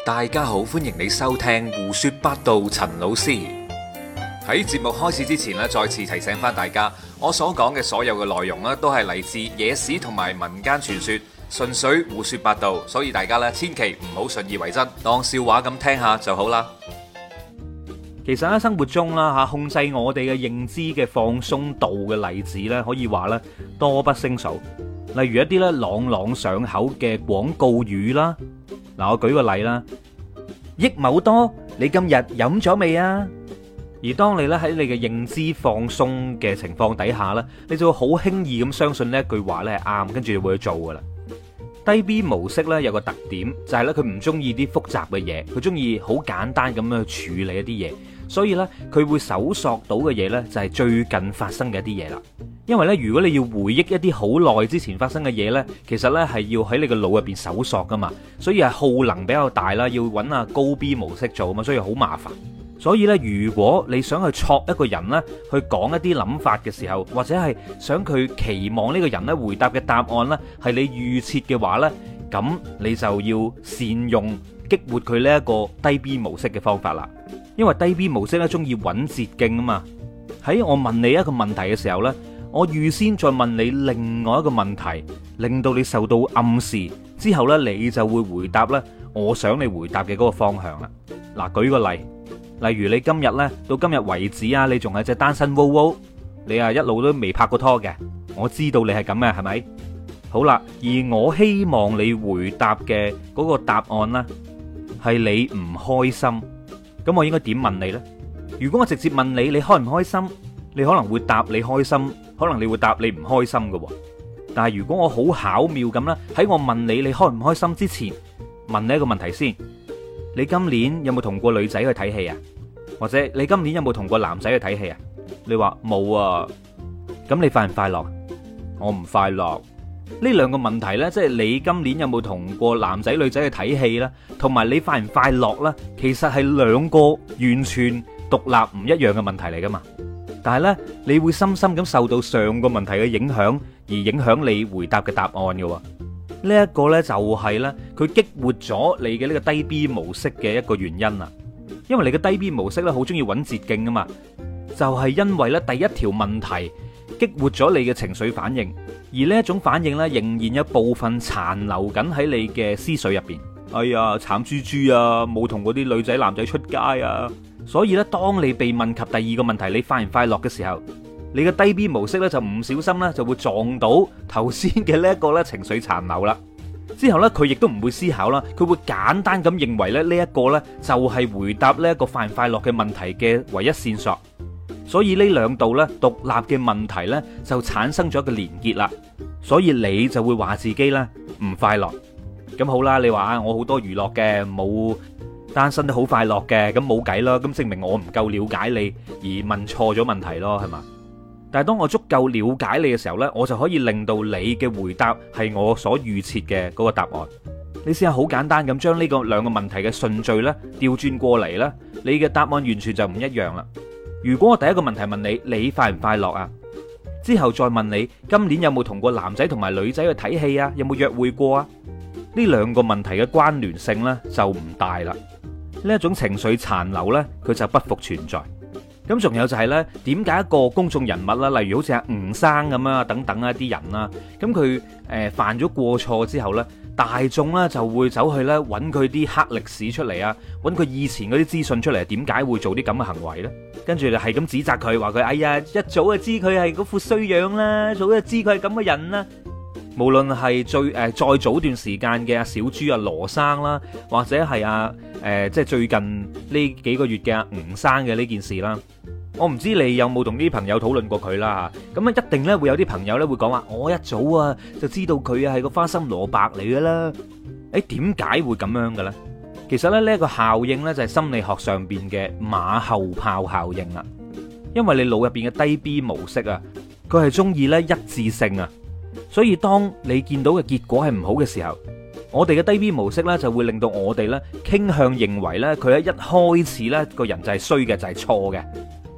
大家好，歡迎你收聽胡說八道。陳老師喺節目開始之前咧，再次提醒翻大家，我所講嘅所有嘅內容咧，都係嚟自野史同埋民間傳說，純粹胡說八道，所以大家咧千祈唔好信以為真，當笑話咁聽下就好啦。 其實喺生活中啦吓，控制我哋嘅認知嘅放鬆度嘅例子咧，可以話咧多不勝數。例如一啲咧朗朗上口嘅廣告語啦，嗱我舉個例啦，益某多，你今日飲咗未啊？而當你咧喺你嘅認知放鬆嘅情況底下咧，你就會好輕易咁相信呢一句話咧係啱，跟住就會去做噶啦。低 B 模式咧有個特點就係咧佢唔中意啲複雜嘅嘢，佢中意好簡單咁樣去處理一啲嘢，所以咧佢會搜索到嘅嘢咧就係最近發生嘅一啲嘢啦。因為咧如果你要回憶一啲好耐之前發生嘅嘢咧，其實咧係要喺你個腦入邊搜索噶嘛，所以係耗能比較大啦，要揾下高 B 模式做啊嘛，所以好麻煩。所以咧，如果你想去戳一個人咧，去講一啲諗法嘅時候，或者係想佢期望呢個人咧回答嘅答案咧係你預設嘅話咧，咁你就要善用激活佢呢一個低 B 模式嘅方法啦。因為低 B 模式咧中意揾捷徑啊嘛。喺我問你一個問題嘅時候咧，我預先再問你另外一個問題，令到你受到暗示之後咧，你就會回答咧我想你回答嘅嗰個方向啦。嗱，舉個例。例如你今日呢，到今日為止啊，你仲係隻單身 WoW， 你啊一路都未拍過拖嘅，我知道你係咁嘅，係咪？好啦，而我希望你回答嘅嗰個答案呢，係你唔開心，咁我應該點問你呢？如果我直接問你，你開唔開心？你可能會答你開心，可能你會答你唔開心嘅。但係如果我好巧妙咁啦，喺我問你開唔開心之前，問你一個問題先。你今年有冇同過女仔去睇戲啊？或者你今年有冇同過男仔去睇戲啊？你話冇啊，咁你快唔快樂？我唔快樂。呢兩個問題呢，即係你今年有冇同過男仔女仔去睇戲啦，同埋你快唔快樂啦，其實係兩個完全獨立唔一樣嘅問題嚟噶嘛。但係呢，你會深深咁受到上個問題嘅影響，而影響你回答嘅答案嘅。呢一個呢，就係呢，佢激活咗你嘅呢個低 B 模式嘅一個原因啊。因為你嘅低 B 模式呢，好中意揾捷徑啊嘛，就係因為呢第一條問題激活咗你嘅情緒反應，而呢一種反應呢，仍然有部分殘留緊喺你嘅思緒入邊。哎呀，慘豬豬啊，冇同嗰啲女仔男仔出街啊。所以呢，當你被問及第二個問題，你快唔快樂嘅時候，你嘅低 B 模式咧就唔小心咧就會撞到頭先嘅呢一個咧情緒殘留啦。之後咧佢亦都唔會思考啦，佢會簡單咁認為咧呢一個咧就係回答呢一個快唔快樂嘅問題嘅唯一線索。所以呢兩度咧獨立嘅問題咧就產生咗一個連結啦。所以你就會話自己咧唔快樂。咁好啦，你話我好多娛樂嘅，冇單身都好快樂嘅，咁冇計啦。咁證明我唔夠了解你而問錯咗問題咯，係嘛？但係當我足夠了解你嘅時候呢，我就可以令到你嘅回答係我所預設嘅嗰個答案。你試下好簡單咁將呢個兩個問題嘅順序呢調轉過嚟呢，你嘅答案完全就唔一樣啦。如果我第一個問題問你，你快唔快樂啊？之後再問你今年有冇同過男仔同埋女仔去睇戲啊？有冇約會過啊？呢兩個問題嘅關聯性呢就唔大啦。呢一種情緒殘留呢，佢就不復存在。咁仲有就係呢，點解一個公眾人物啦，例如好似阿吳生咁啊，等等一啲人啦，咁佢犯咗過錯之後呢，大眾呢就會走去呢揾佢啲黑歷史出嚟啊，揾佢以前嗰啲資訊出嚟，點解會做啲咁嘅行為呢？跟住就係咁指責佢，話佢哎呀，一早就知佢係嗰副衰樣啦，早就知佢係咁嘅人啦。無論係再早段時間嘅阿小豬阿羅生啦，或者係即係最近呢幾個月嘅阿吳生嘅呢件事啦，我唔知你有冇同啲朋友討論過佢啦嚇。咁啊一定咧會有啲朋友咧會講話，我一早啊就知道佢係個花心蘿蔔嚟噶啦。誒點解會咁樣嘅咧？其實咧呢一個效應咧就係心理學上邊嘅馬後炮效應啦。因為你腦入邊嘅低 B 模式啊，佢係中意咧一致性啊。所以當你見到嘅結果係唔好嘅時候，我哋嘅低 B 模式呢就會令到我哋呢傾向認為呢佢喺一開始呢個人就係衰嘅，就係錯嘅。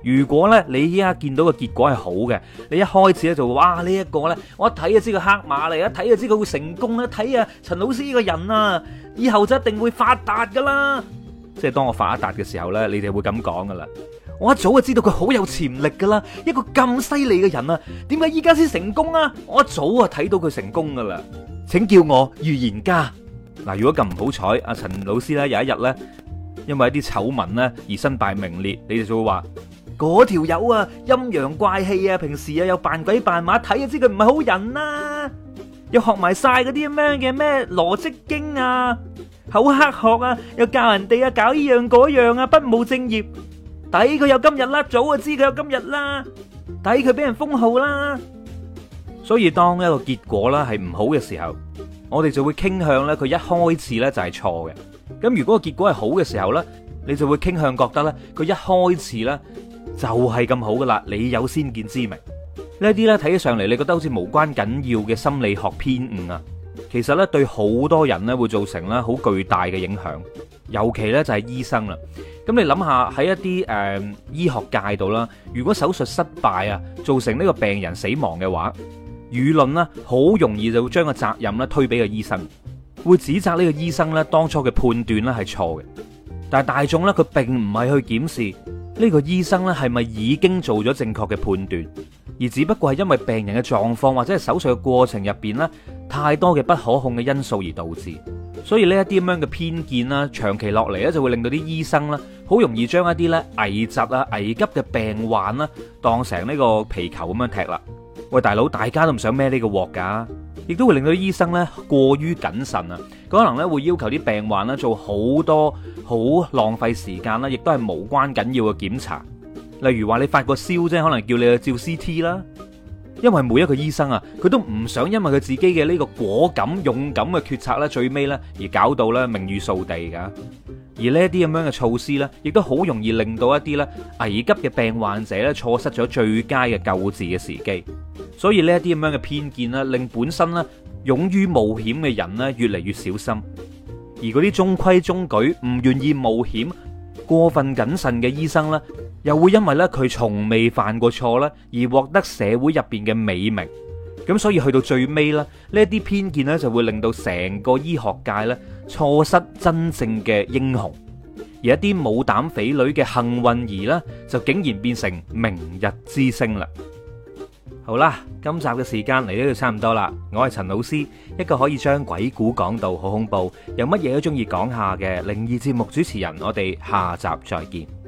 如果咧你依家見到個結果係好嘅，你一開始咧就哇呢一個咧，我一睇就知個黑馬嚟，一睇就知佢會成功，一睇啊陳老師呢個人啊，以後就一定會發達噶啦。即係當我發達嘅時候咧，你哋會咁講噶啦。我一早就知道佢好有潛力噶啦，一個咁犀利嘅人啊，點解依家先成功啊？我一早啊睇到佢成功噶啦，請叫我預言家。嗱，如果咁唔好彩，阿陳老師咧有一日咧，因為一啲醜聞咧而身敗名裂，你哋就會話嗰條友啊陰陽怪氣啊，平時啊又扮鬼扮馬，睇就知佢唔係好人啦，又學埋晒嗰啲咁樣嘅咩羅織經啊，好黑學啊，又教人哋啊搞呢樣嗰樣啊，不務正業，抵佢有今日啦，早就知佢有今日啦，抵佢俾人封號啦。所以當一個結果啦係唔好嘅時候，我哋就會傾向咧佢一開始咧就係錯嘅。咁如果個結果係好嘅時候咧，你就會傾向覺得咧佢一開始咧就係咁好噶啦，你有先見之明。呢啲咧睇起上嚟，你覺得好似無關緊要嘅心理學偏誤啊，其實咧對好多人咧會造成咧好巨大嘅影響，尤其咧就係醫生啦。咁你諗下喺一啲醫學界度啦，如果手術失敗啊，造成呢個病人死亡嘅話，輿論呢好容易就會將個責任咧推俾個醫生，會指責呢個醫生咧當初嘅判斷咧係錯嘅。但係大眾咧佢並唔係去檢視呢個醫生咧係咪已經做咗正確嘅判斷，而只不過係因為病人嘅狀況或者係手術嘅過程入邊咧太多嘅不可控嘅因素而導致。所以呢一啲咁樣嘅偏見啦，長期落嚟咧就會令到啲醫生啦好容易將一啲咧危疾啊、危急嘅病患啦當成呢個皮球咁樣踢啦。喂，大佬，大家都唔想孭呢個鑊噶，亦都會令到啲醫生咧過於謹慎啊，可能咧會要求啲病患咧做好多好浪費時間啦，亦都係無關緊要嘅檢查。例如話你發個燒啫，可能叫你去照 CT 啦。因為每一個醫生啊，佢都唔想因為佢自己嘅呢個果敢勇敢嘅決策咧，最尾咧而搞到咧名譽掃地噶。而呢一啲咁樣嘅措施咧，亦都好容易令到一啲咧危急嘅病患者咧錯失咗最佳嘅救治嘅時機。所以呢一啲咁樣嘅偏見咧，令本身咧勇於冒險嘅人咧越嚟越小心，而嗰啲中規中矩唔願意冒險、過分謹慎嘅醫生咧，又會因為咧佢從未犯過錯咧，而獲得社會入邊嘅美名。咁所以去到最尾咧，呢一啲偏見咧就會令到成個醫學界咧錯失真正嘅英雄，而一啲冇膽匪類嘅幸運兒咧，就竟然變成明日之星啦。好啦，今集嘅時間嚟到就差唔多啦。我係陳老師，一個可以將鬼故講到好恐怖，又乜嘢都中意講下嘅靈異節目主持人。我哋下集再見。